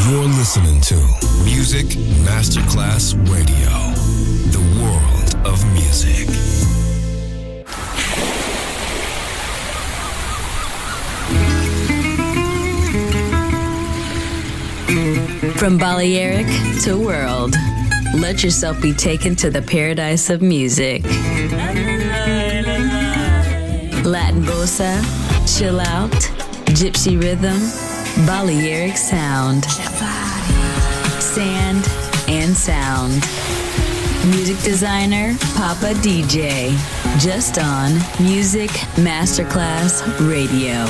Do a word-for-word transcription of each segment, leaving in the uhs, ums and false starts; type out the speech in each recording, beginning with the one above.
You're listening to Music Masterclass Radio, the world of music. From Balearic to world, let yourself be taken to the paradise of music. Latin bossa, chill out, gypsy rhythm, Balearic sound, sand and sound. Music designer, Papa D J, just on Music Masterclass Radio.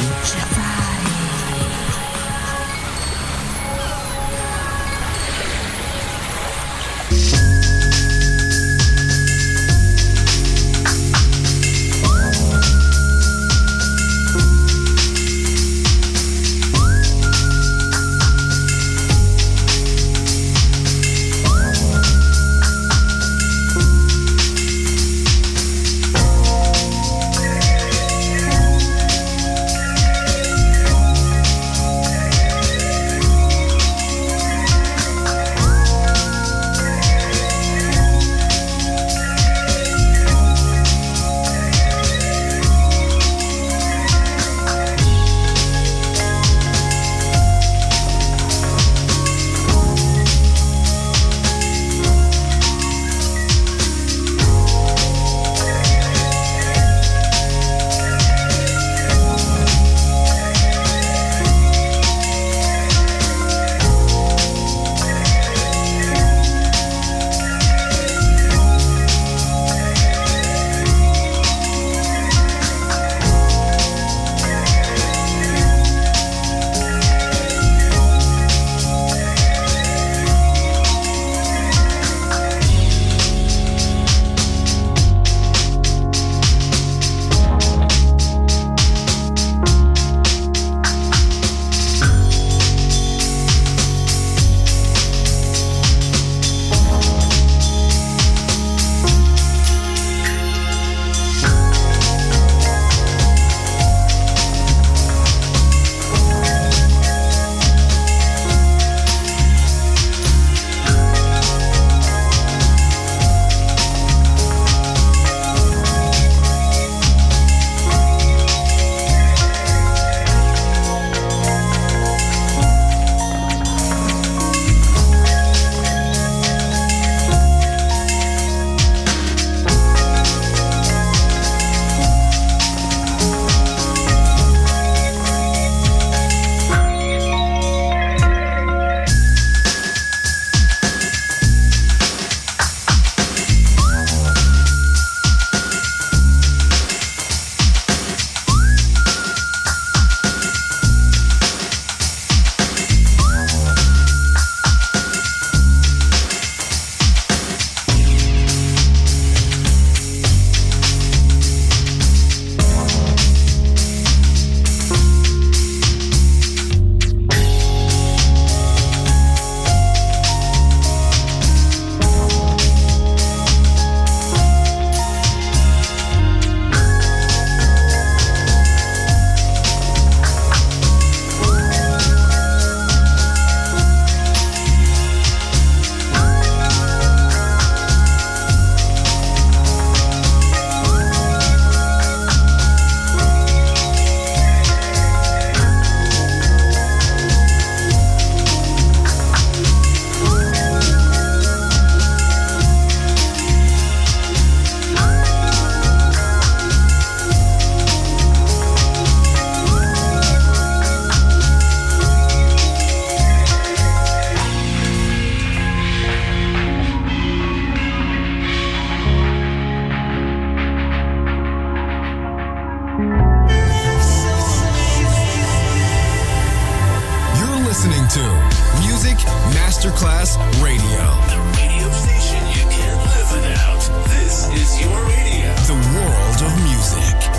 listening to Music Masterclass Radio. The radio station you can't live without. This is your radio. The world of music.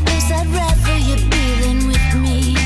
place I'd rather you be than with me.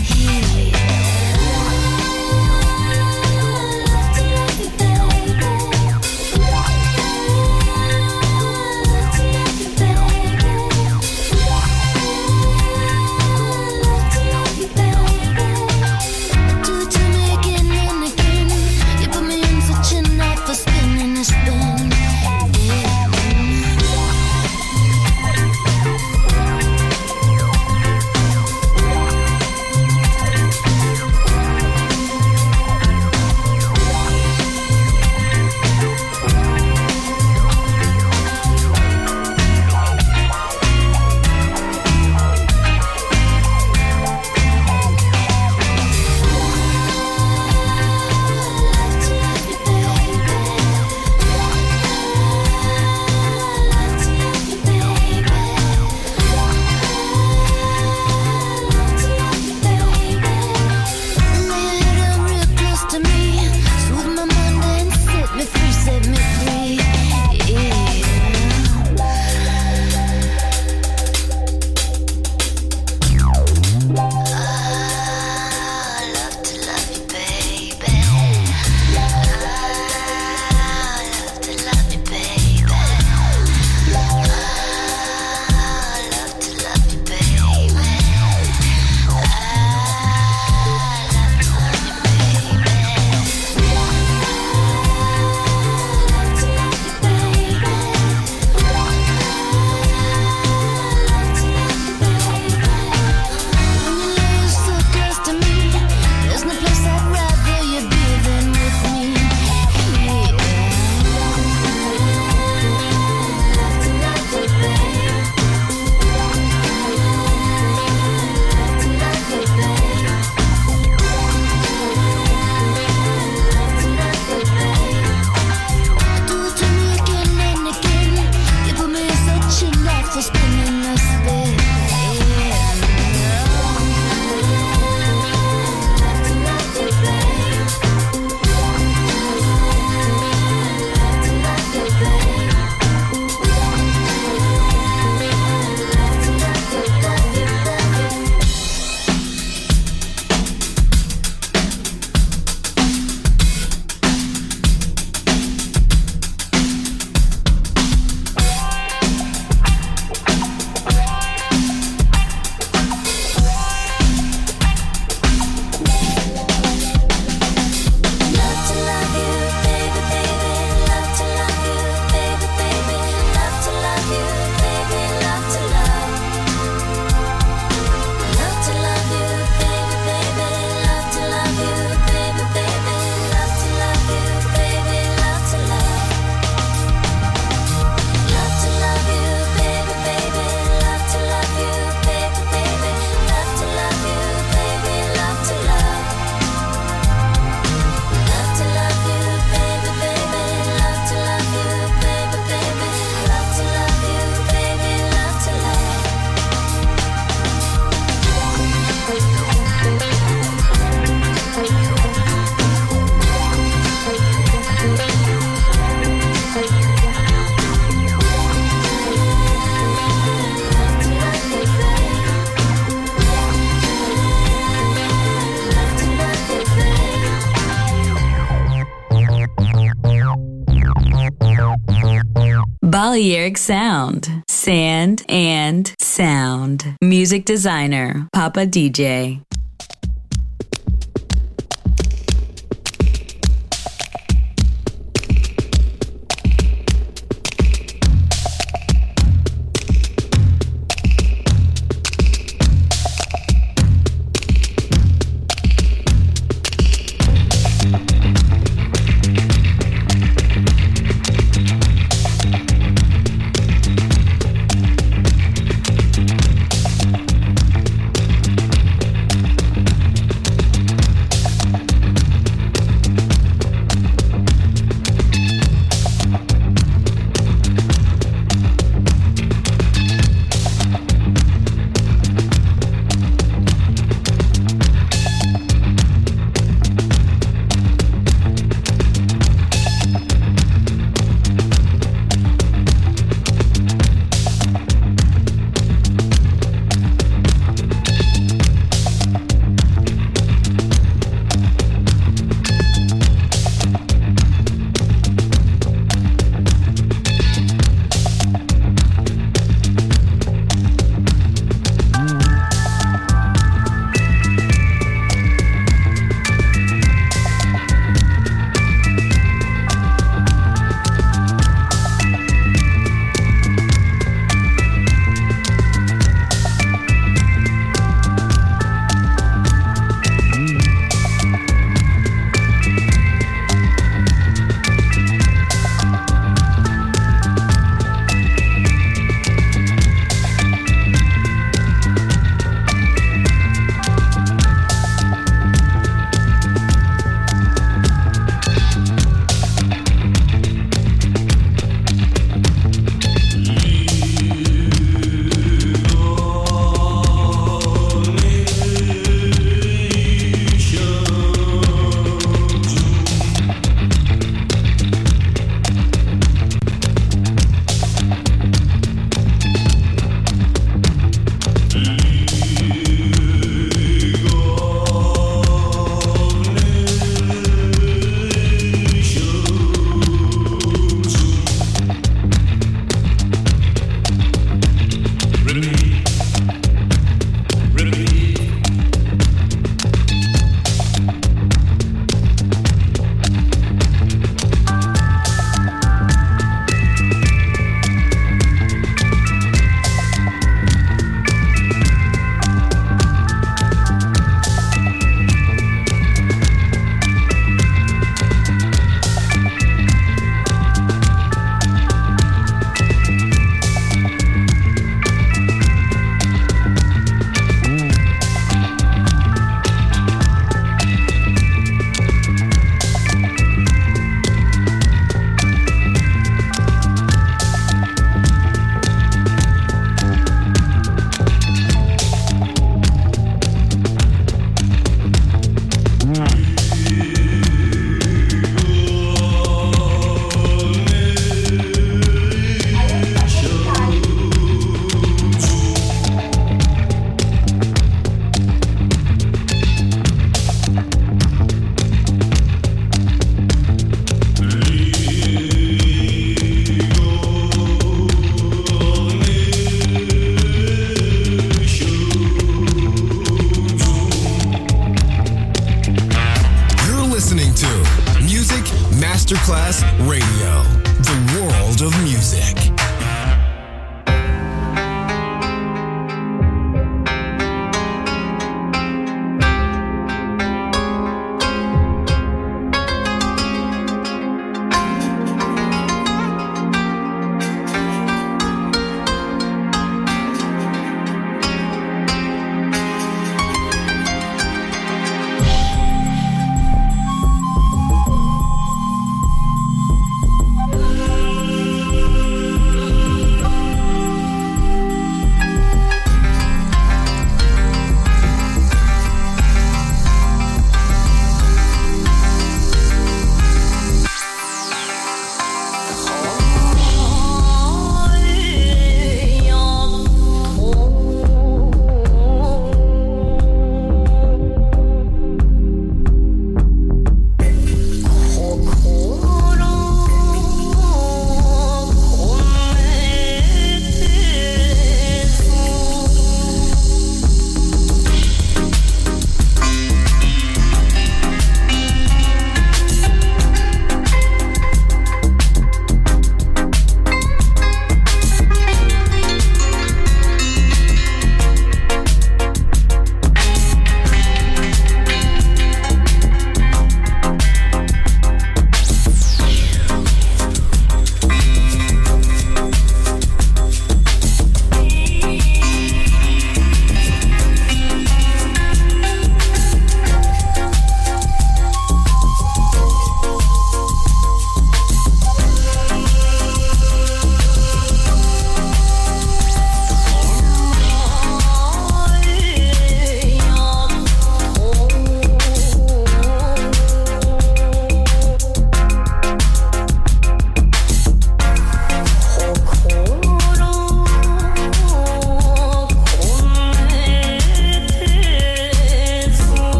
Balearic Sound. Sand and Sound. Music designer, Papa D J.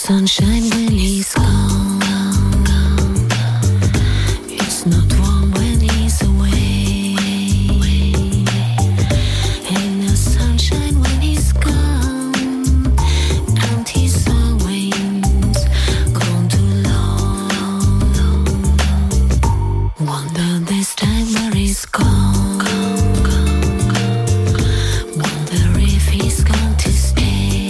sunshine when he's gone. It's not warm when he's away. Ain't no sunshine when he's gone. And he's always gone too long. Wonder this time where he's gone. Wonder if he's gone to stay.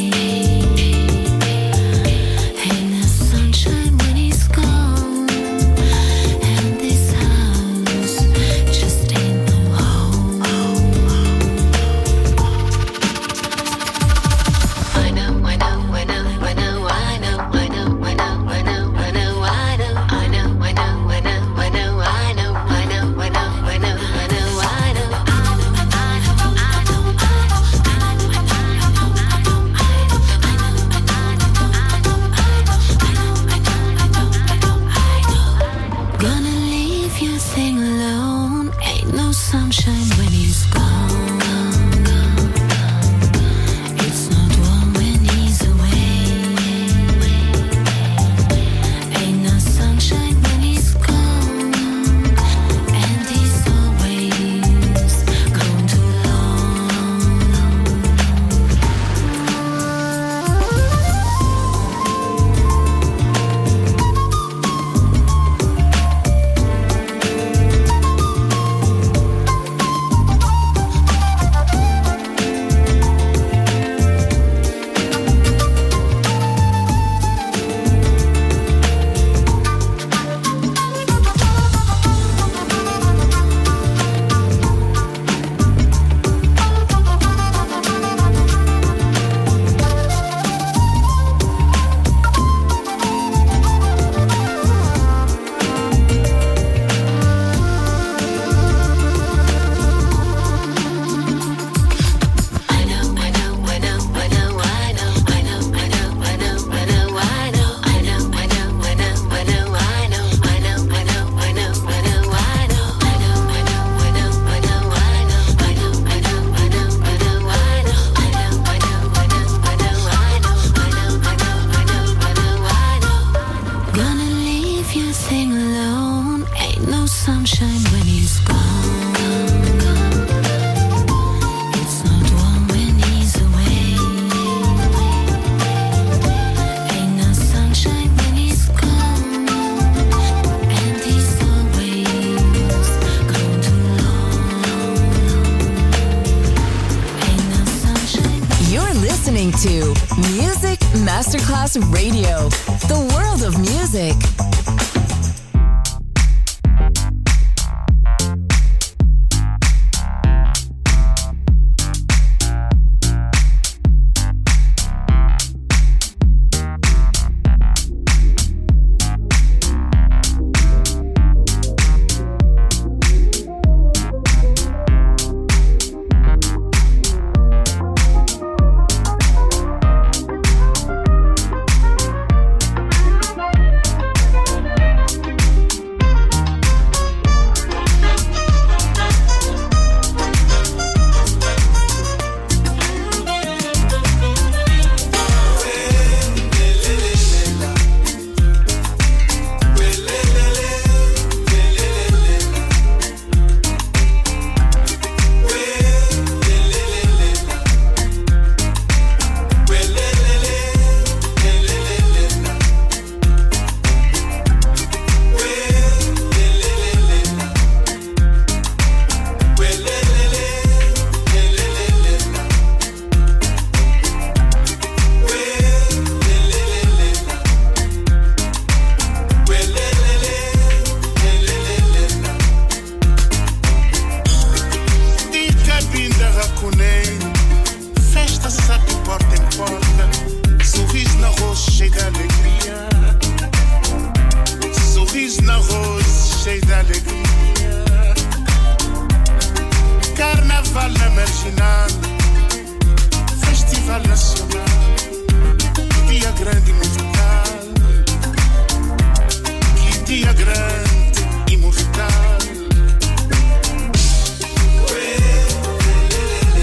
To Music Masterclass Radio, the world of music.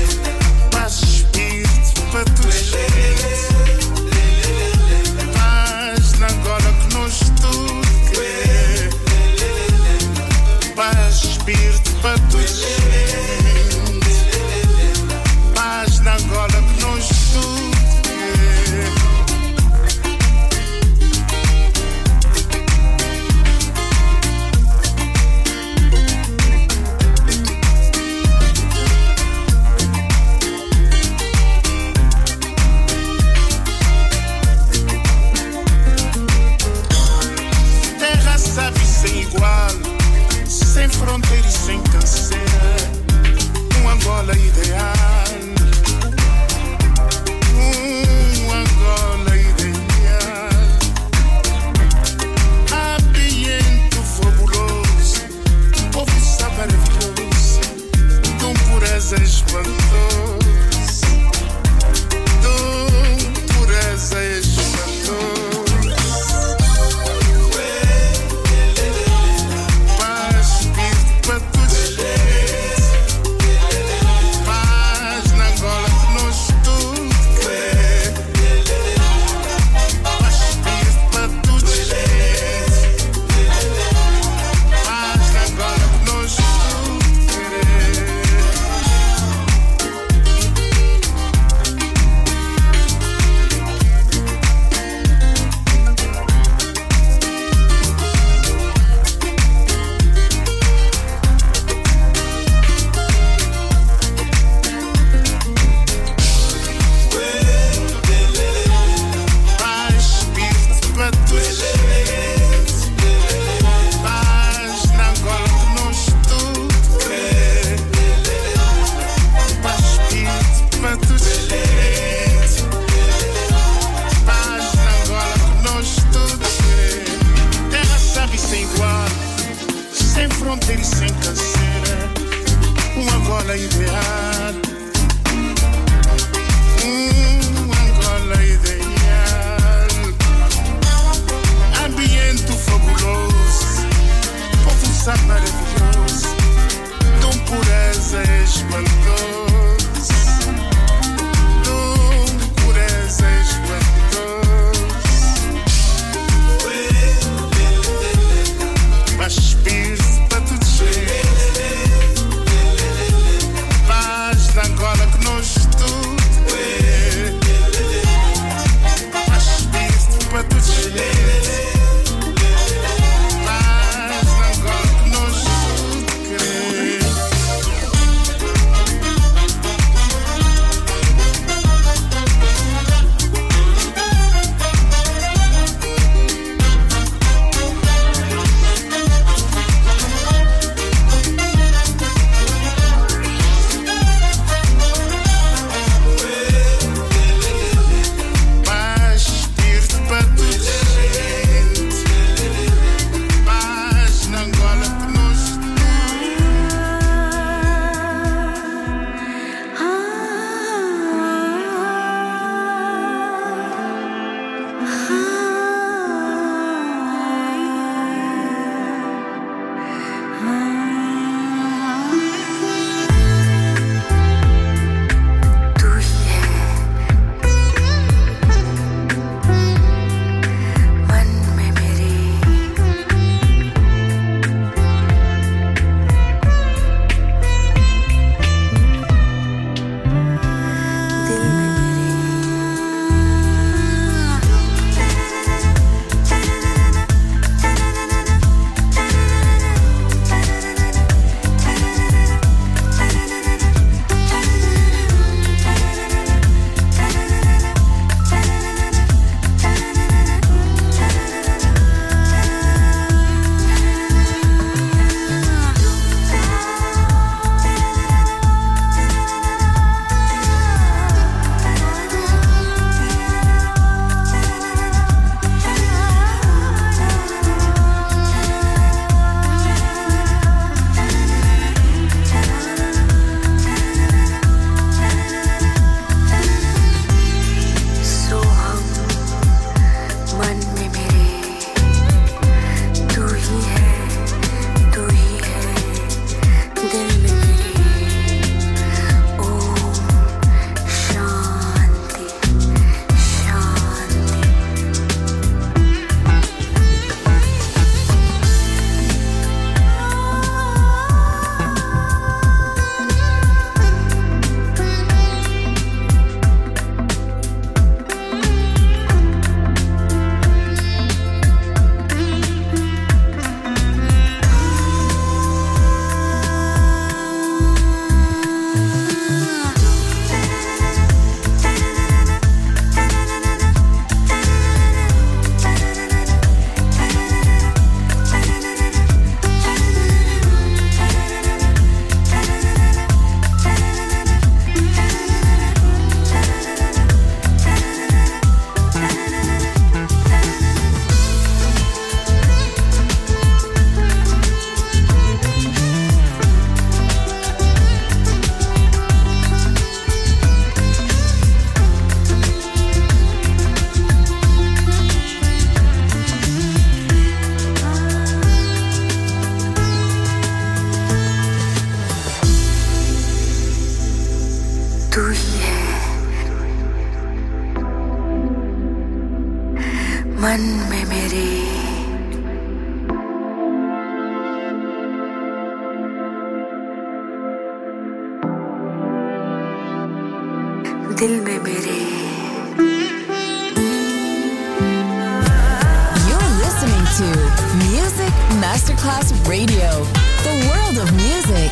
Paz, espírito, para tu espírito para todos. Paz na gola que nós tudo. Sem fronteira e sem canseira, um Angola ideal, um Angola ideal, ambiente fabuloso, povo maravilhoso, de um pureza espantoso, de um pureza espantoso. मन में मेरे दिल में मेरे You're listening to Music Masterclass Radio, the world of music.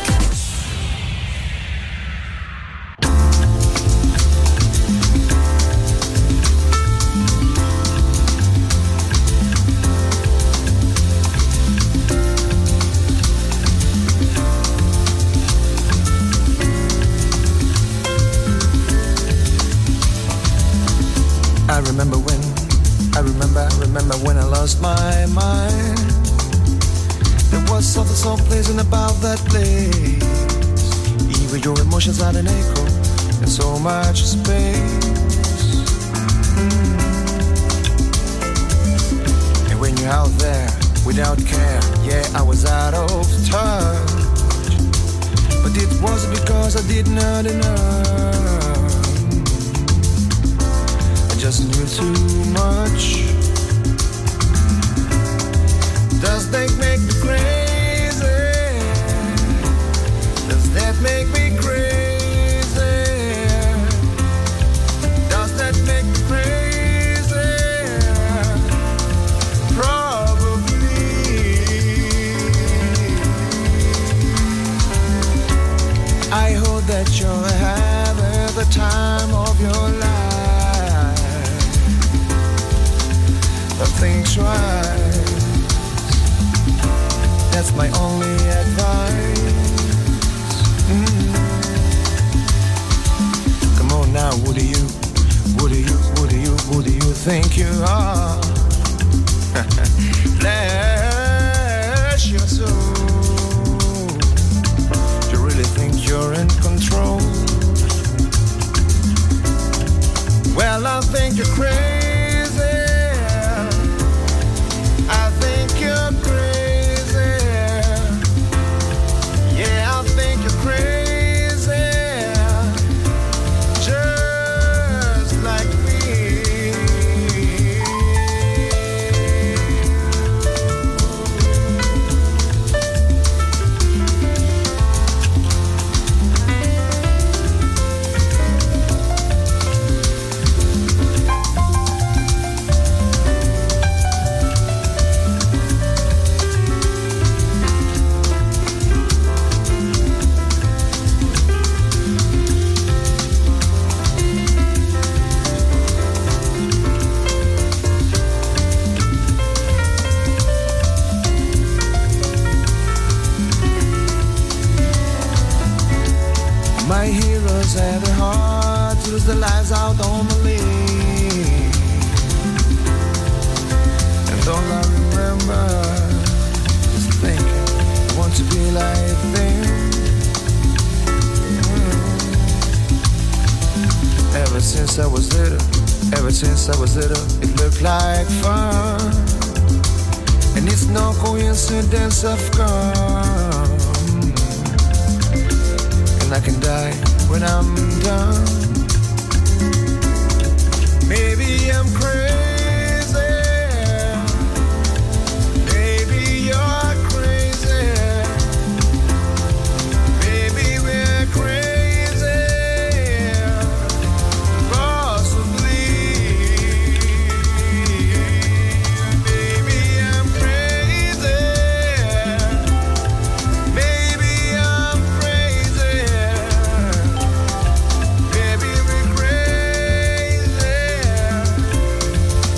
I remember when, I remember, I remember when I lost my mind. There was something, some place in about that place. Even your emotions had an echo and so much space. Mm. And when you're out there without care, yeah, I was out of touch. But it wasn't because I did not enough. Just knew too much. Does that make me crazy? Does that make me crazy? Does that make me crazy? Probably. I hope that you're having the time of your life. Think twice. That's my only advice. Mm. Come on now, who do you, who do you, who do you, who do you think you are? Bless your soul. Do you really think you're in control? Well, I think you're crazy. You're crazy. Yeah, I think you're crazy. Just like me. My heroes had a heart to lose their lives out on the lane. And all I remember is thinking, I want to be like them. Mm. Ever since I was little, ever since I was little, it looked like fun. And it's no coincidence I've come. I can die when I'm done. Maybe I'm crazy. Maybe you're crazy. Maybe we're crazy. Possibly. Maybe I'm crazy. Maybe I'm crazy. Maybe we're crazy.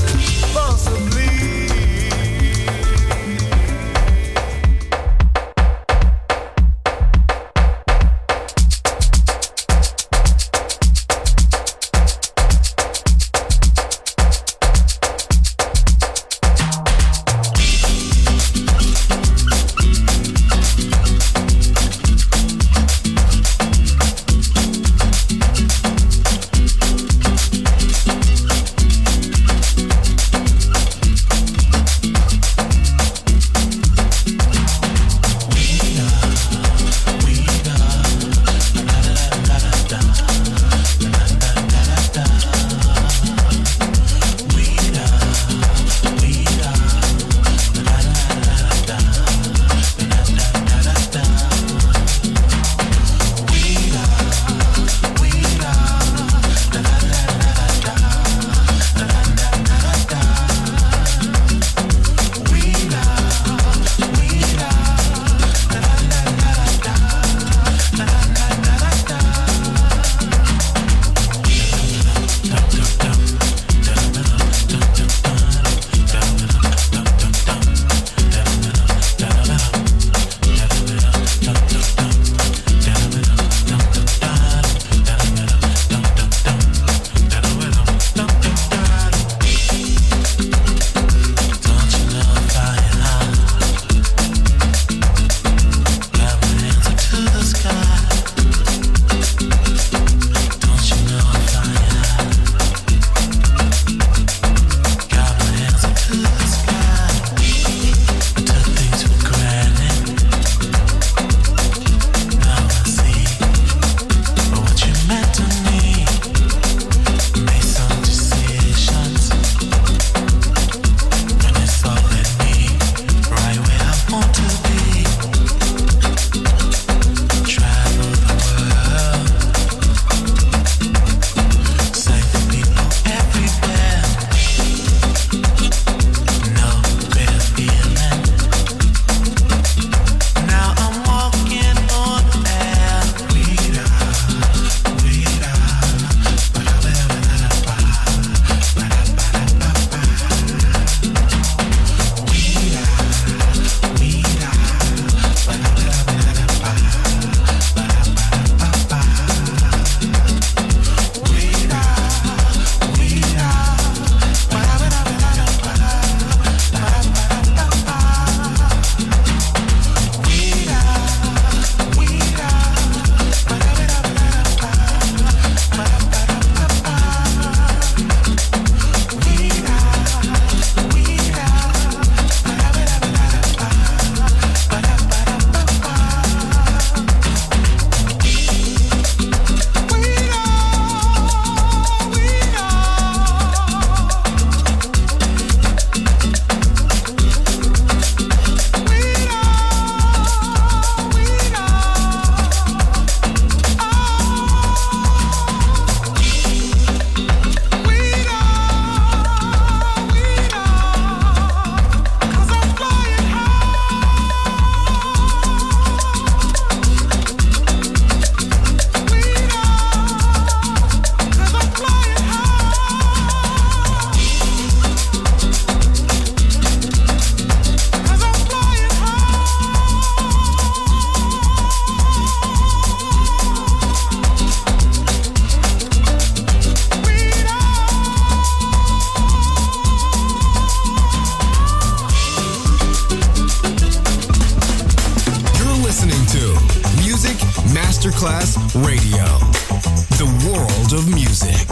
to Music Masterclass Radio, the world of music.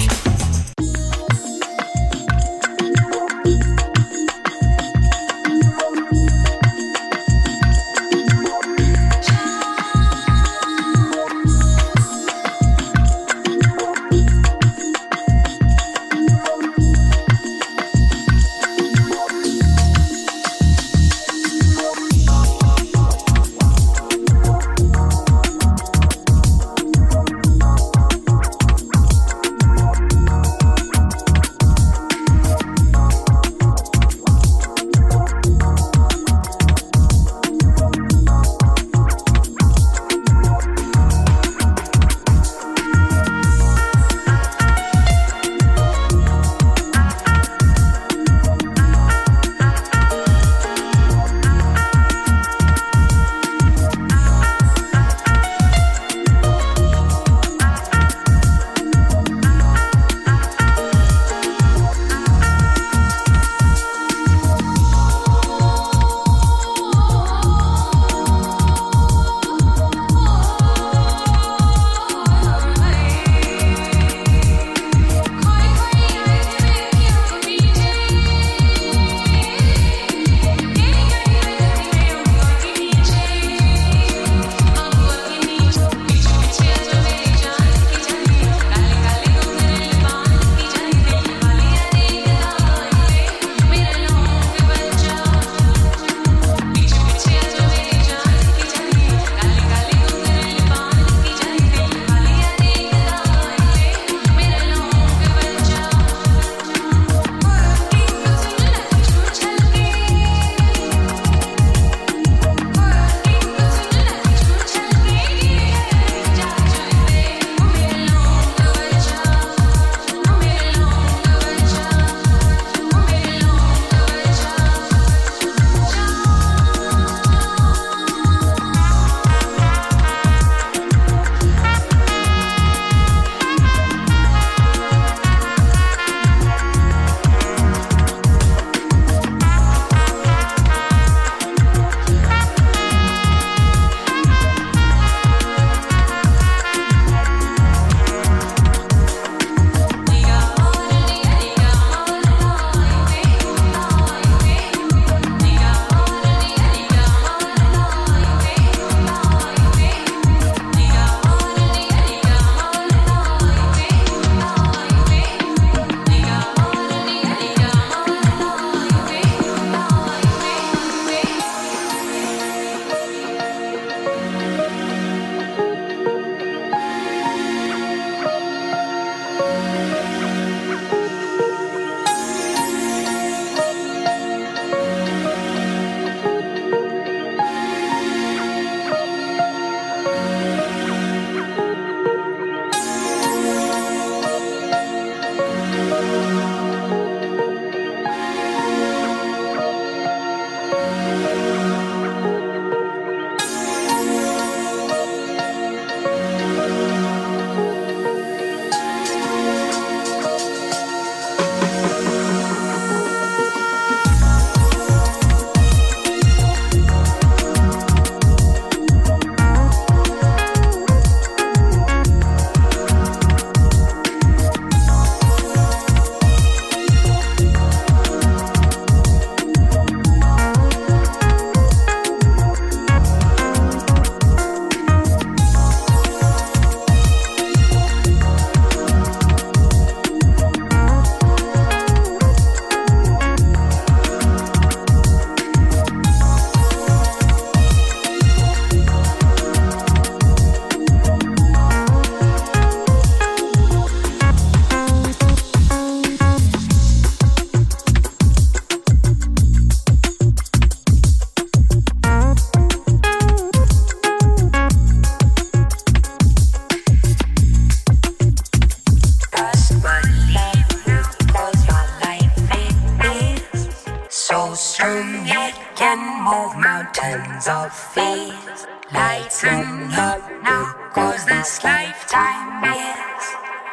mountains of fears. Lighten up now, cause this lifetime is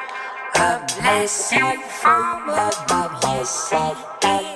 a blessing from above. Yes, it is.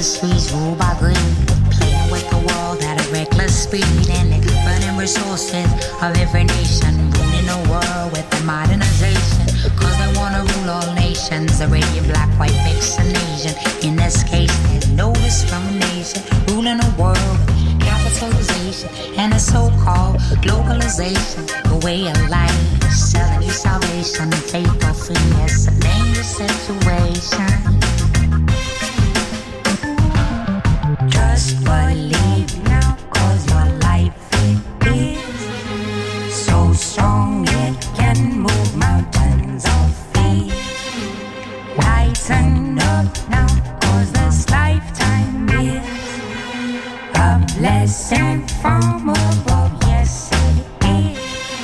industries ruled by greed, playing with the world at a reckless speed, and they're burning resources of every nation, ruling the world with their modernization, cause they wanna rule all nations, Arabian, black, white, mixed, and Asian. In this case, there's no discrimination, ruling the world with capitalization and a so-called globalization, the way of life, selling you salvation, faith or free, it's a dangerous situation. Just believe now, cause your life it is so strong it can move mountains of fear. Lighten up now, cause this lifetime is a blessing from above, yes it is.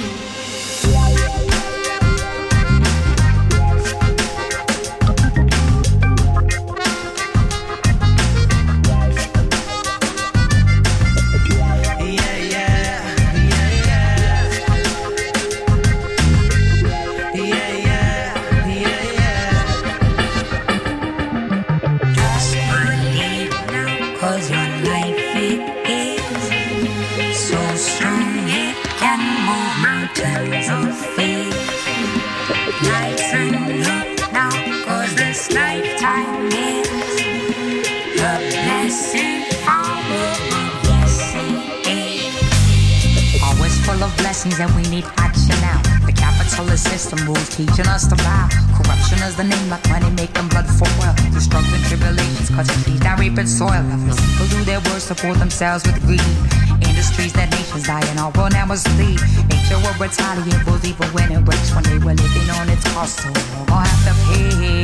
And we need action now. The capitalist system rules, teaching us to bow. Corruption is the name, like money making blood for oil. Destruction, tribulations, cause it feeds our rapid soil. People do their worst to support themselves with greed. Industries that nations die and our world now must lead. Nature will retaliate, will leave when it breaks. One day we're living on its cost, so we're gonna have to pay.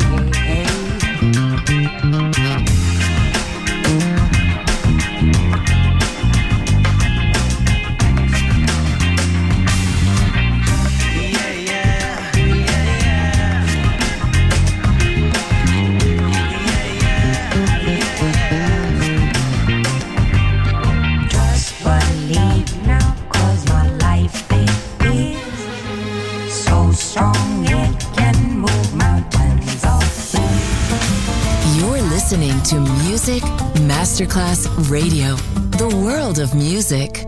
Listening to Music Masterclass Radio, the world of music.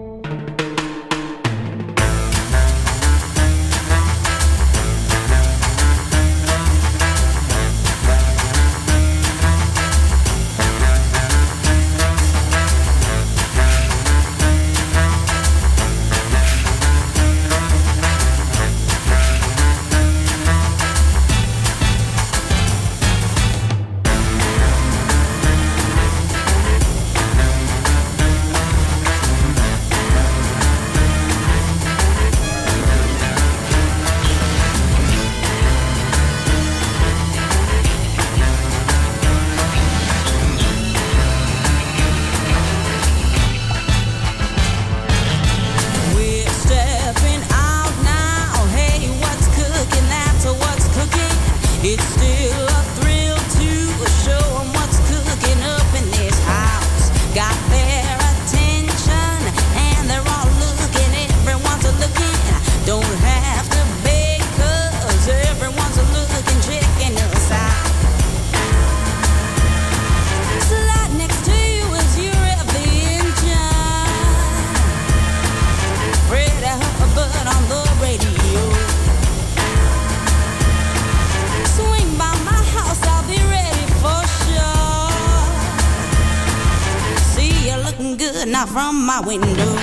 Not from my window.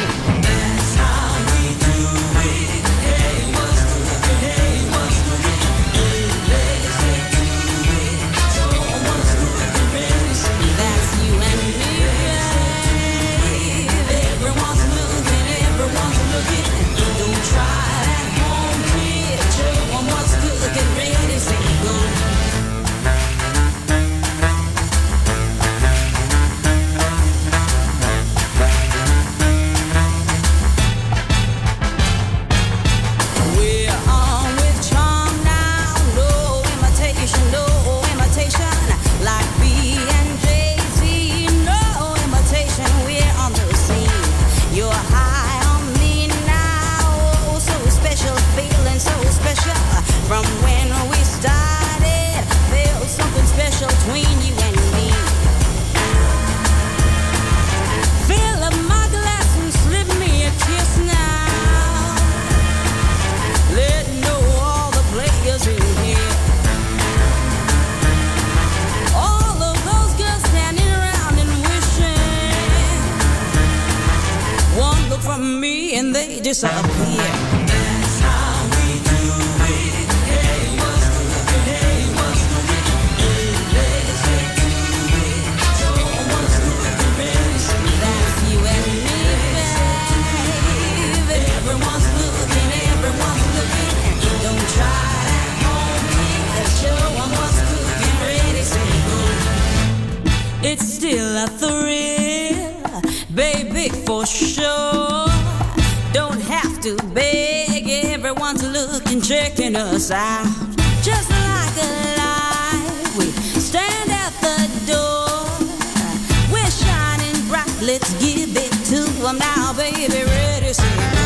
disappear. That's how we do it. Hey, what's cooking? Hey, what's cooking? Hey, let's get to it. So what's cooking? Ready, say That's you and me, baby. Everyone's looking, everyone's looking. Don't try that home kid. Show 'em what's cooking. Ready, say go. It's still a thrill, baby, for sure. Don't have to beg, everyone's looking, checking us out. Just like a light, we stand at the door. We're shining bright, let's give it to them now, baby, ready, say go.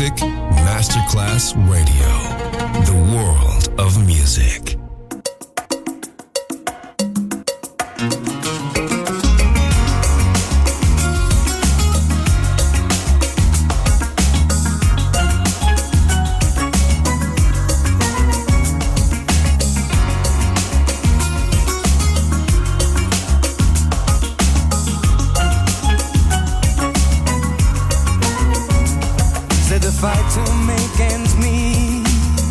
Music Masterclass Radio, the world of music. Fight to make ends meet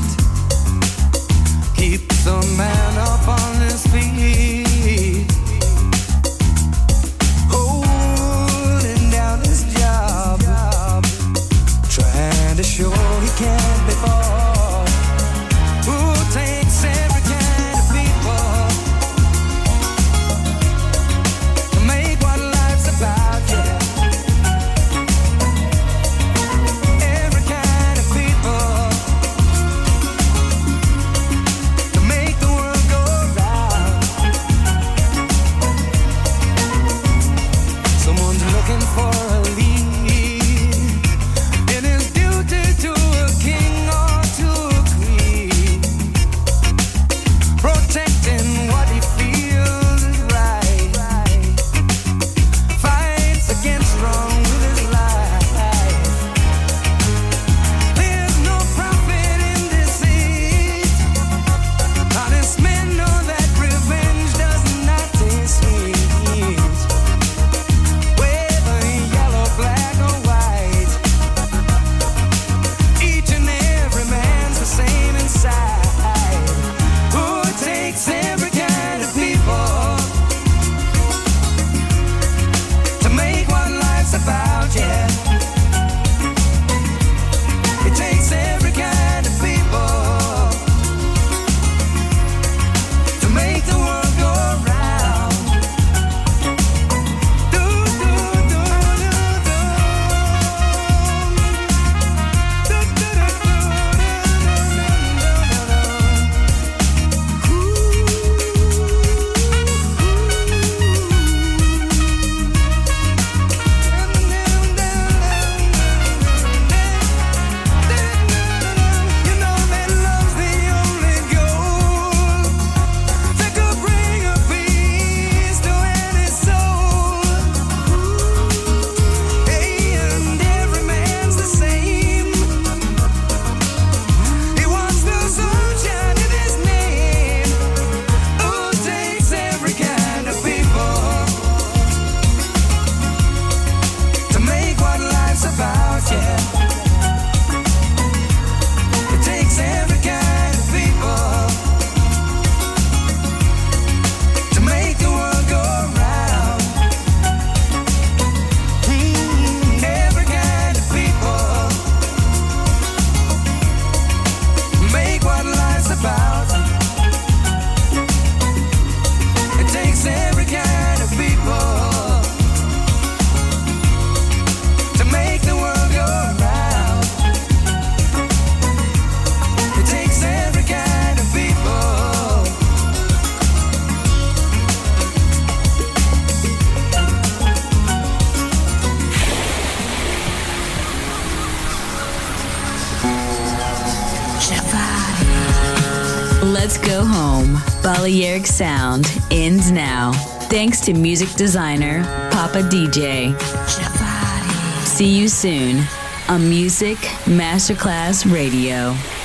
keeps a man up on his feet, holding down his job, trying to show he can't be bought. Who takes every kind of people to make what life's about, yeah. Let's go home. Balearic Sound ends now. Thanks to music designer Papa D J. See you soon on Music Masterclass Radio.